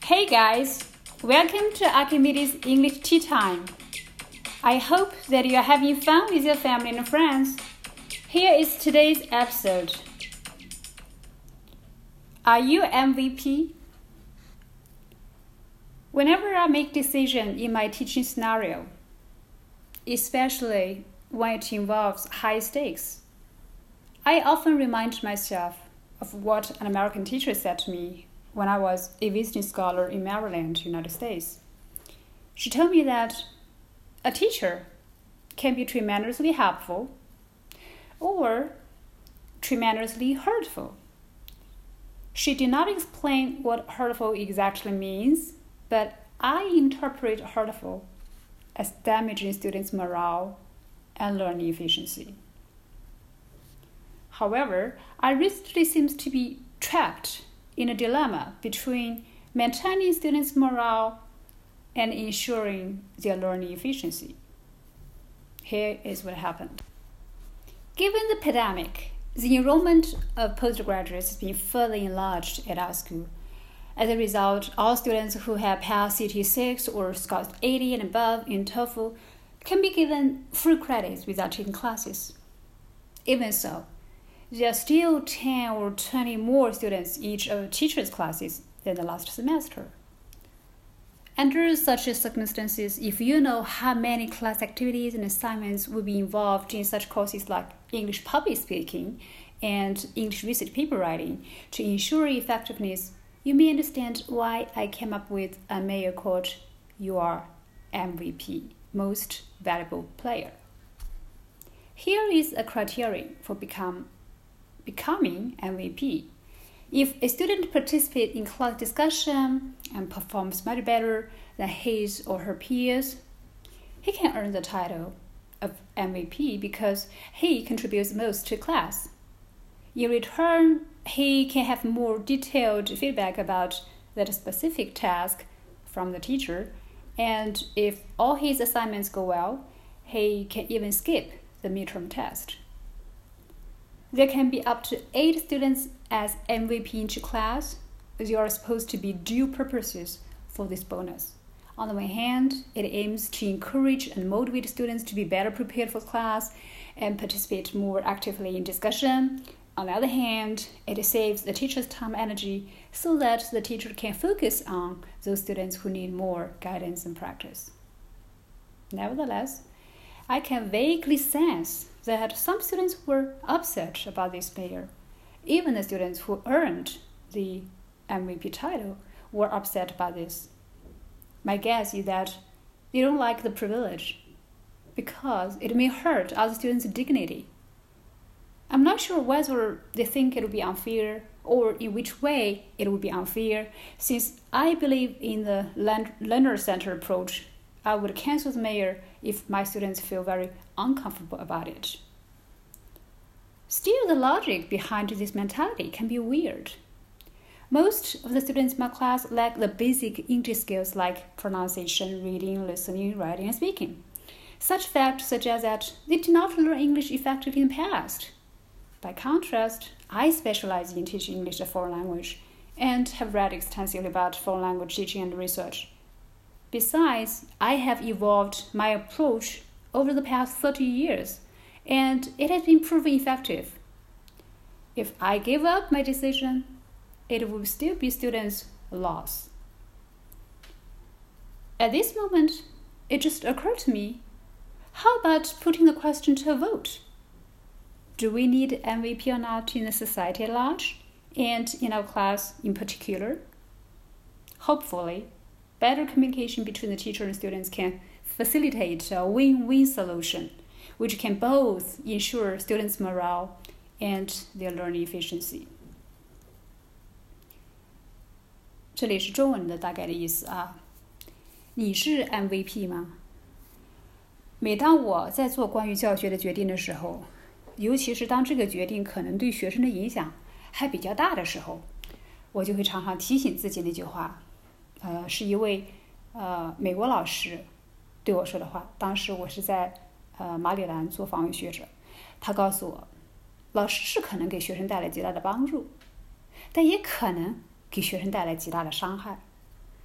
Hey guys, welcome to Archimedes English Tea Time. I hope that you are having fun with your family and friends. Here is today's episode. Are you MVP? Whenever I make decisions in my teaching scenario, especially when it involves high stakes, I often remind myself of what an American teacher said to me when I was a visiting scholar in Maryland, United States. She told me that a teacher can be tremendously helpful or tremendously hurtful. She did not explain what hurtful exactly means, but I interpret hurtful as damaging students' morale and learning efficiency. However, I recently seems to be trapped in a dilemma between maintaining students' morale and ensuring their learning efficiency. Here is what happened. Given the pandemic, the enrollment of postgraduates has been further enlarged at our school. As a result, all students who have passed CT6 or SCORS 80 and above in TOEFL can be given full credits without taking classes. Even so, there are still 10 or 20 more students each of teachers' classes than the last semester. Under such circumstances, if you know how many class activities and assignments will be involved in such courses like English public speaking and English research paper writing to ensure effectiveness, you may understand why I came up with a mayor called your MVP, Most Valuable Player. Here is a criterion for becoming MVP. If a student participates in class discussion and performs much better than his or her peers, he can earn the title of MVP because he contributes most to class. In return, he can have more detailed feedback about that specific task from the teacher, and if all his assignments go well, he can even skip the midterm test. There can be up to 8 students as MVP in each class. There are supposed to be dual purposes for this bonus. On the one hand, it aims to encourage and motivate students to be better prepared for class and participate more actively in discussion. On the other hand, it saves the teacher's time and energy so that the teacher can focus on those students who need more guidance and practice. Nevertheless, I can vaguely sense that some students were upset about this mayor. Even the students who earned the MVP title were upset by this. My guess is that they don't like the privilege because it may hurt other students' dignity. I'm not sure whether they think it would be unfair or in which way it would be unfair. Since I believe in the learner-centered approach, I would cancel the mayor if my students feel very uncomfortable about it. Still, the logic behind this mentality can be weird. Most of the students in my class lack the basic English skills like pronunciation, reading, listening, writing, and speaking. Such facts suggest that they did not learn English effectively in the past. By contrast, I specialize in teaching English as a foreign language and have read extensively about foreign language teaching and research. Besides, I have evolved my approach over the past 30 years, and it has been proven effective. If I give up my decision, it will still be students' loss. At this moment, it just occurred to me, how about putting the question to a vote? Do we need MVP or not in the society at large, and in our class in particular? Hopefully, better communication between the teacher and students can facilitate a win-win solution, which can both ensure students' morale and their learning efficiency. 这里是中文的大概的意思啊。你是 MVP 吗？每当我在做关于教学的决定的时候，尤其是当这个决定可能对学生的影响还比较大的时候，我就会常常提醒自己那句话。是一位美国老师对我说的话。当时我是在马里兰做访问学者，他告诉我，老师是可能给学生带来极大的帮助，但也可能给学生带来极大的伤害。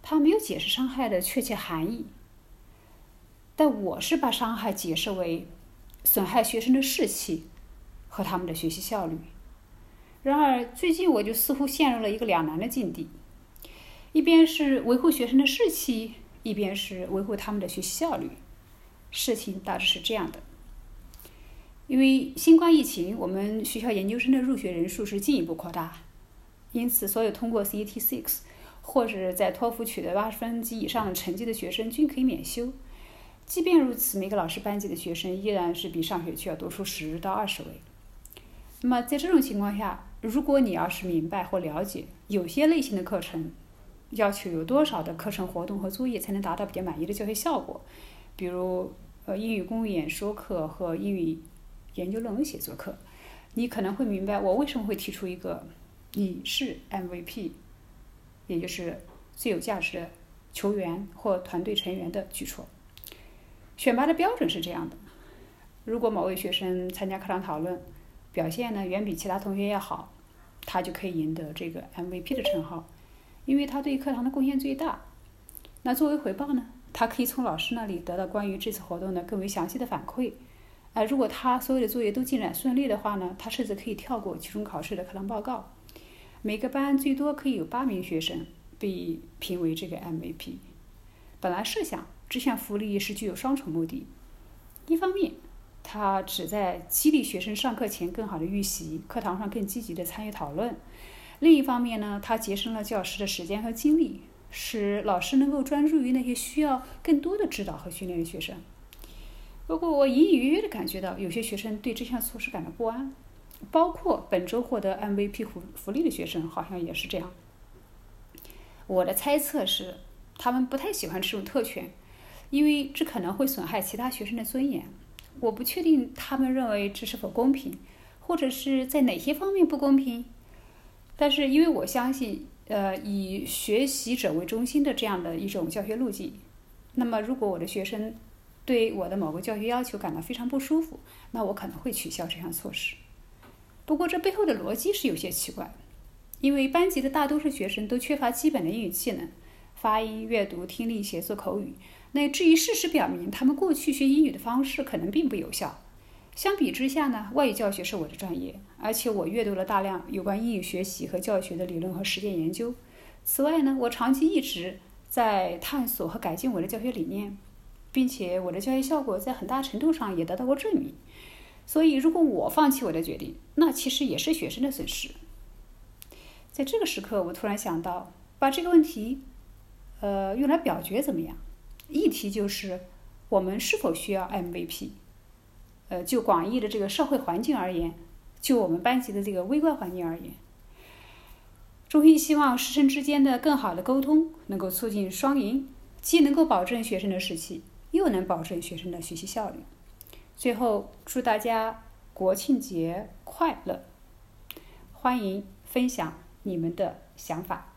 他没有解释伤害的确切含义，但我是把伤害解释为损害学生的士气和他们的学习效率。然而最近我就似乎陷入了一个两难的境地，一边是维护学生的士气，一边是维护他们的学习效率。事情大致是这样的，因为新冠疫情，我们学校研究生的入学人数是进一步扩大，因此所有通过 CET-6 或者在托福取得80分及以上的成绩的学生均可以免修。即便如此，每个老师班级的学生依然是比上学期要多出10到20位。那么在这种情况下，如果你要是明白或了解有些类型的课程要求有多少的课程活动和作业才能达到比较满意的教学效果，比如英语公寓演说课和英语研究论文写作课，你可能会明白我为什么会提出一个你是 MVP， 也就是最有价值的球员或团队成员的举措。选拔的标准是这样的：如果某位学生参加课堂讨论表现呢远比其他同学要好，他就可以赢得这个 MVP 的称号，因为他对课堂的贡献最大。那作为回报呢，他可以从老师那里得到关于这次活动的更为详细的反馈。如果他所有的作业都进展顺利的话呢，他甚至可以跳过期中考试的课堂报告。每个班最多可以有8名学生被评为这个 MVP。本来设想这项福利是具有双重目的，一方面它旨在激励学生上课前更好的预习，课堂上更积极的参与讨论；另一方面呢，它节省了教师的时间和精力，使老师能够专注于那些需要更多的指导和训练的学生。不过我隐隐约约地感觉到有些学生对这项措施感到不安，包括本周获得 MVP 福利的学生好像也是这样。我的猜测是他们不太喜欢这种特权，因为这可能会损害其他学生的尊严。我不确定他们认为这是否公平，或者是在哪些方面不公平。但是因为我相信以学习者为中心的这样的一种教学路径，那么如果我的学生对我的某个教学要求感到非常不舒服，那我可能会取消这项措施。不过这背后的逻辑是有些奇怪，因为班级的大多数学生都缺乏基本的英语技能，发音、阅读、听力、写作、口语。那至于事实表明他们过去学英语的方式可能并不有效。相比之下呢，外语教学是我的专业，而且我阅读了大量有关英语学习和教学的理论和实践研究。此外呢，我长期一直在探索和改进我的教学理念，并且我的教学效果在很大程度上也得到过证明。所以如果我放弃我的决定，那其实也是学生的损失。在这个时刻，我突然想到把这个问题用来表决怎么样？议题就是我们是否需要 MVP。就广义的这个社会环境而言，就我们班级的这个微观环境而言，衷心希望师生之间的更好的沟通能够促进双赢，既能够保证学生的士气，又能保证学生的学习效率。最后，祝大家国庆节快乐！欢迎分享你们的想法。